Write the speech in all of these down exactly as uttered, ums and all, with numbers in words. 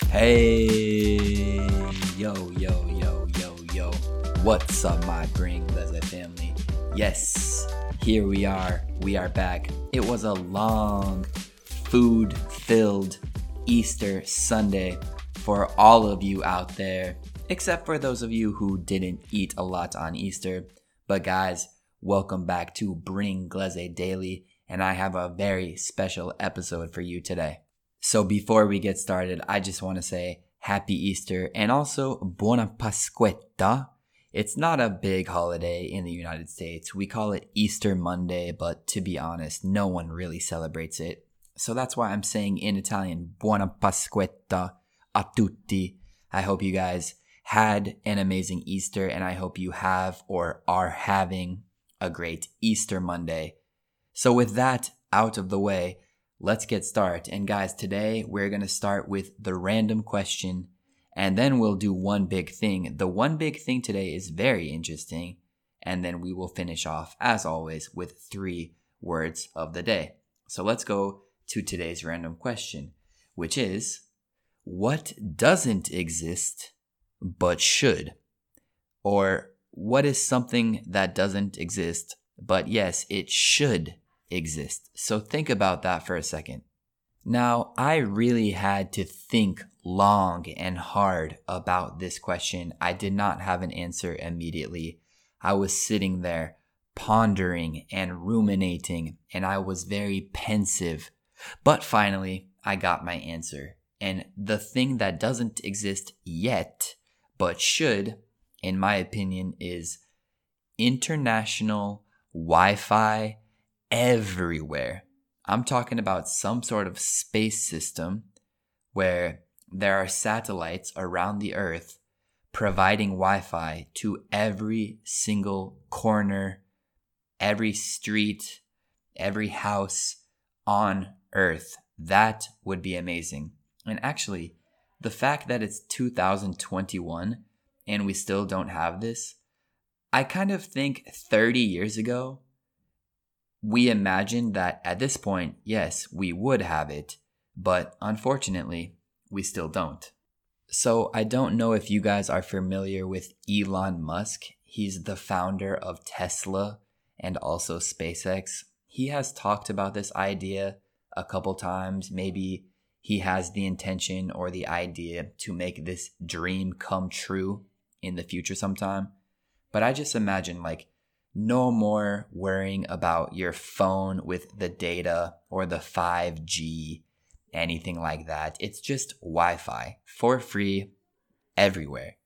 Hey, yo, yo, yo, yo, yo. What's up, my Bring Gleze family? Yes, here we are. We are back. It was a long, food-filled Easter Sunday for all of you out there, except for those of you who didn't eat a lot on Easter. But guys, welcome back to Bring Gleze Daily, and I have a very special episode for you today. So before we get started, I just want to say Happy Easter and also Buona Pasquetta. It's not a big holiday in the United States. We call it Easter Monday, but to be honest, no one really celebrates it. So that's why I'm saying in Italian, Buona Pasquetta a tutti. I hope you guys had an amazing Easter, and I hope you have or are having a great Easter Monday. So with that out of the way, let's get started. And guys, today we're going to start with the random question, and then we'll do one big thing. The one big thing today is very interesting, and then we will finish off, as always, with three words of the day. So let's go to today's random question, which is, what doesn't exist but should? Or what is something that doesn't exist, but yes, it should exist? So think about that for a second. Now, I really had to think long and hard about this question. I did not have an answer immediately. I was sitting there pondering and ruminating, and I was very pensive. But finally, I got my answer. And the thing that doesn't exist yet, but should, in my opinion, is international Wi-Fi everywhere. I'm talking about some sort of space system where there are satellites around the Earth providing Wi-Fi to every single corner, every street, every house on Earth. That would be amazing. And actually, the fact that it's two thousand twenty-one and we still don't have this, I kind of think thirty years ago, we imagined that at this point, yes, we would have it, but unfortunately, we still don't. So I don't know if you guys are familiar with Elon Musk. He's the founder of Tesla and also SpaceX. He has talked about this idea a couple times. Maybe he has the intention or the idea to make this dream come true in the future sometime. But I just imagine like, no more worrying about your phone with the data or the five G, anything like that. It's just Wi-Fi for free everywhere.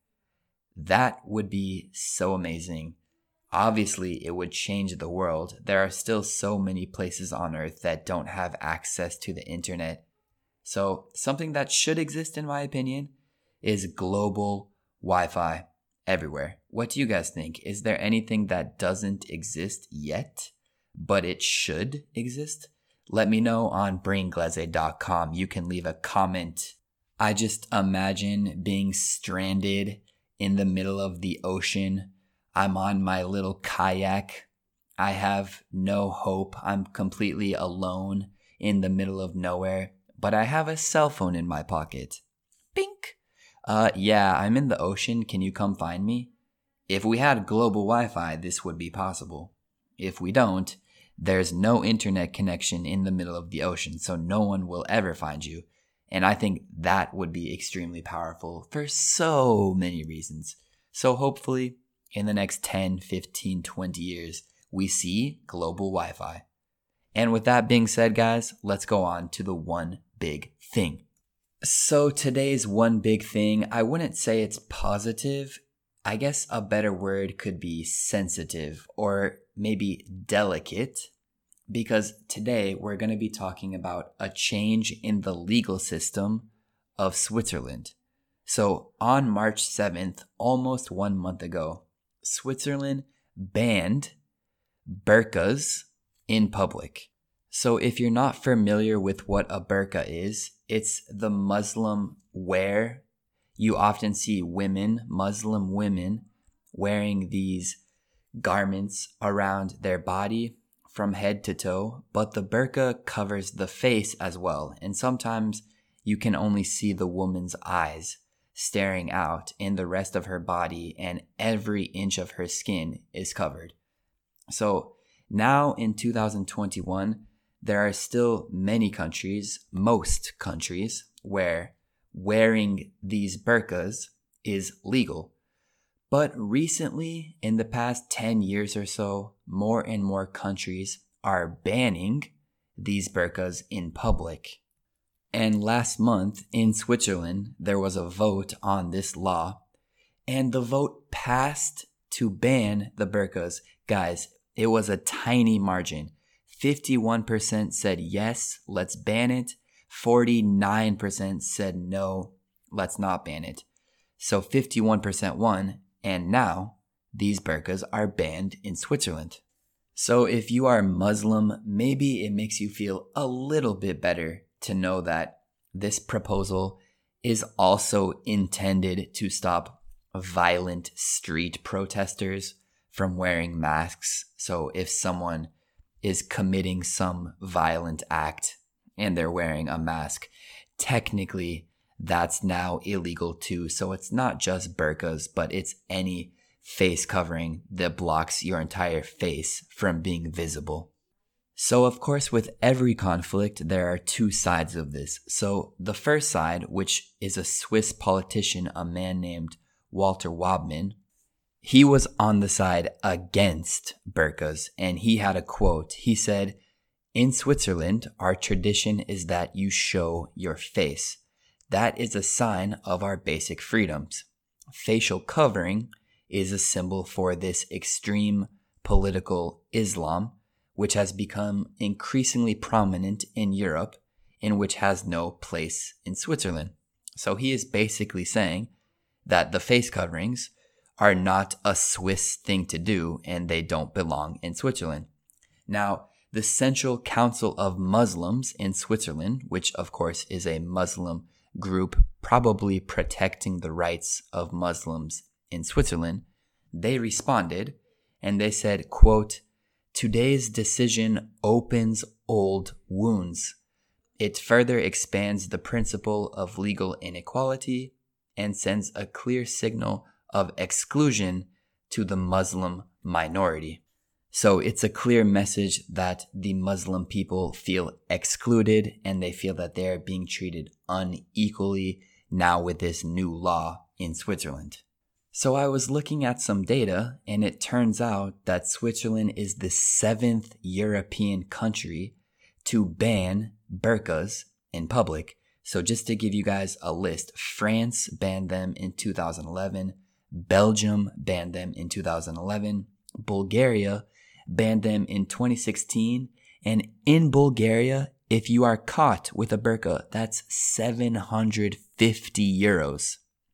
That would be so amazing. Obviously, it would change the world. There are still so many places on Earth that don't have access to the internet. So something that should exist, in my opinion, is global Wi-Fi everywhere. What do you guys think? Is there anything that doesn't exist yet, but it should exist? Let me know on bring gleze dot com. You can leave a comment. I just imagine being stranded in the middle of the ocean. I'm on my little kayak. I have no hope. I'm completely alone in the middle of nowhere, but I have a cell phone in my pocket. Bink! Uh, yeah, I'm in the ocean. Can you come find me? If we had global Wi-Fi, this would be possible. If we don't, there's no internet connection in the middle of the ocean, so no one will ever find you. And I think that would be extremely powerful for so many reasons. So hopefully, in the next ten, fifteen, twenty years, we see global Wi-Fi. And with that being said, guys, let's go on to the one big thing. So today's one big thing, I wouldn't say it's positive. I guess a better word could be sensitive or maybe delicate, because today we're going to be talking about a change in the legal system of Switzerland. So on March seventh, almost one month ago, Switzerland banned burqas in public. So if you're not familiar with what a burqa is, it's the Muslim wear. You often see women, Muslim women, wearing these garments around their body from head to toe, but the burqa covers the face as well. And sometimes you can only see the woman's eyes staring out, and the rest of her body and every inch of her skin is covered. So now in two thousand twenty-one, there are still many countries, most countries, where wearing these burqas is legal. But recently, in the past ten years or so, more and more countries are banning these burqas in public. And last month in Switzerland, there was a vote on this law, and the vote passed to ban the burqas. Guys, it was a tiny margin. fifty-one percent said yes, let's ban it. forty-nine percent said no, let's not ban it. So fifty-one percent won, and now these burqas are banned in Switzerland. So if you are Muslim, maybe it makes you feel a little bit better to know that this proposal is also intended to stop violent street protesters from wearing masks. So if someone is committing some violent act and they're wearing a mask, technically that's now illegal too. So it's not just burqas, but it's any face covering that blocks your entire face from being visible. So of course, with every conflict, there are two sides of this. So the first side, which is a Swiss politician, a man named Walter Wobman, he was on the side against burqas, and he had a quote. He said, "In Switzerland, our tradition is that you show your face. That is a sign of our basic freedoms. Facial covering is a symbol for this extreme political Islam, which has become increasingly prominent in Europe and which has no place in Switzerland." So he is basically saying that the face coverings are not a Swiss thing to do and they don't belong in Switzerland. Now, the Central Council of Muslims in Switzerland, which of course is a Muslim group probably protecting the rights of Muslims in Switzerland, they responded and they said, quote, "Today's decision opens old wounds. It further expands the principle of legal inequality and sends a clear signal of exclusion to the Muslim minority." So it's a clear message that the Muslim people feel excluded and they feel that they're being treated unequally now with this new law in Switzerland. So I was looking at some data, and it turns out that Switzerland is the seventh European country to ban burqas in public. So just to give you guys a list, France banned them in two thousand eleven, Belgium banned them in two thousand eleven, Bulgaria banned them in twenty sixteen, and in Bulgaria, if you are caught with a burqa, that's seven hundred fifty euros.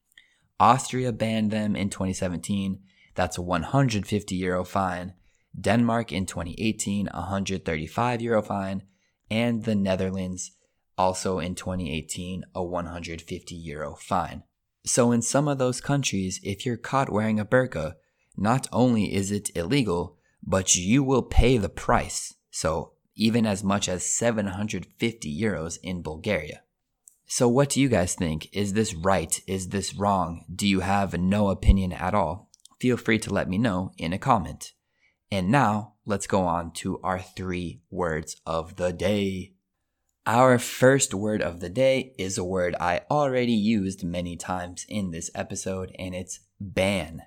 Austria banned them in twenty seventeen, that's a one hundred fifty euro fine. Denmark in twenty eighteen, one hundred thirty-five euro fine, and the Netherlands also in twenty eighteen, a one hundred fifty euro fine. So in some of those countries, if you're caught wearing a burqa, not only is it illegal, but you will pay the price. So even as much as seven hundred fifty euros in Bulgaria. So what do you guys think? Is this right? Is this wrong? Do you have no opinion at all? Feel free to let me know in a comment. And now let's go on to our three words of the day. Our first word of the day is a word I already used many times in this episode, and it's ban.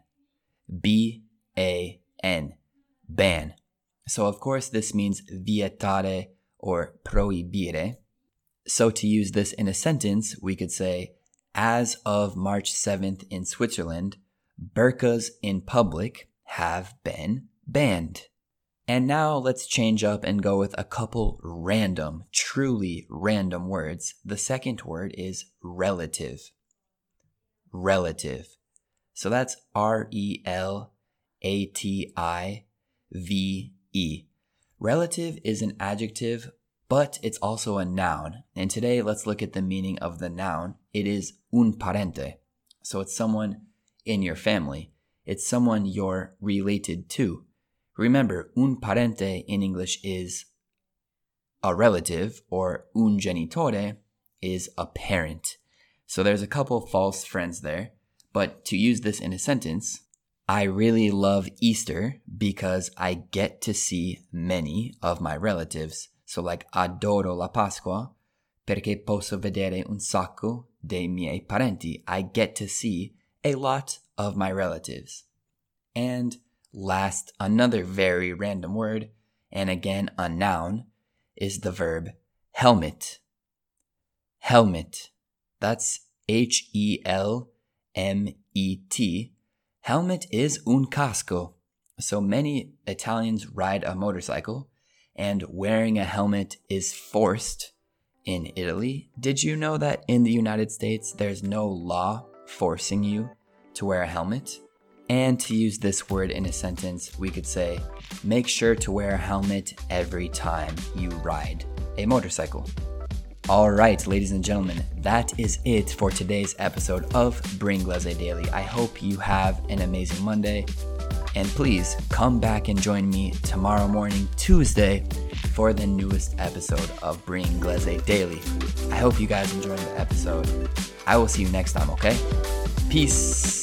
B A N. Ban. So of course this means vietare or proibire. So to use this in a sentence, we could say, as of March seventh in Switzerland, burqas in public have been banned. And now let's change up and go with a couple random, truly random words. The second word is relative. Relative. So that's R E L A T I V E. Relative is an adjective, but it's also a noun. And today, let's look at the meaning of the noun. It is un parente. So it's someone in your family. It's someone you're related to. Remember, un parente in English is a relative, or un genitore is apparent. So there's a couple false friends there, but to use this in a sentence, I really love Easter because I get to see many of my relatives. So like adoro la Pasqua perché posso vedere un sacco dei miei parenti. I get to see a lot of my relatives. And last, another very random word, and again a noun, is the verb helmet. Helmet. That's H E L M E T. Helmet is un casco. So many Italians ride a motorcycle, and wearing a helmet is forced in Italy. Did you know that in the United States, there's no law forcing you to wear a helmet? And to use this word in a sentence, we could say, make sure to wear a helmet every time you ride a motorcycle. All right, ladies and gentlemen, that is it for today's episode of Bringlese Daily. I hope you have an amazing Monday. And please come back and join me tomorrow morning, Tuesday, for the newest episode of Bringlese Daily. I hope you guys enjoyed the episode. I will see you next time, okay? Peace.